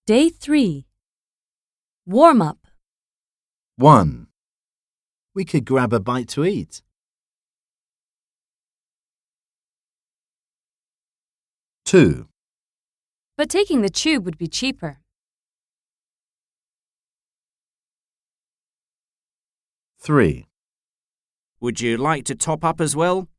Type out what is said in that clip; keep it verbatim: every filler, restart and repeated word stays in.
Day three. Warm up. one. We could grab a bite to eat. two. But taking the tube would be cheaper. three. Would you like to top up as well?